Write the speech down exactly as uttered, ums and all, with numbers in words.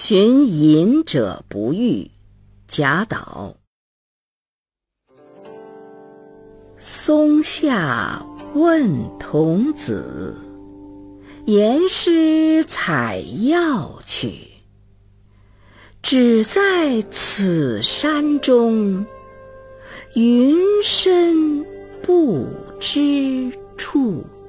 寻隐者不遇，贾岛。松下问童子，言师采药去。只在此山中，云深不知处。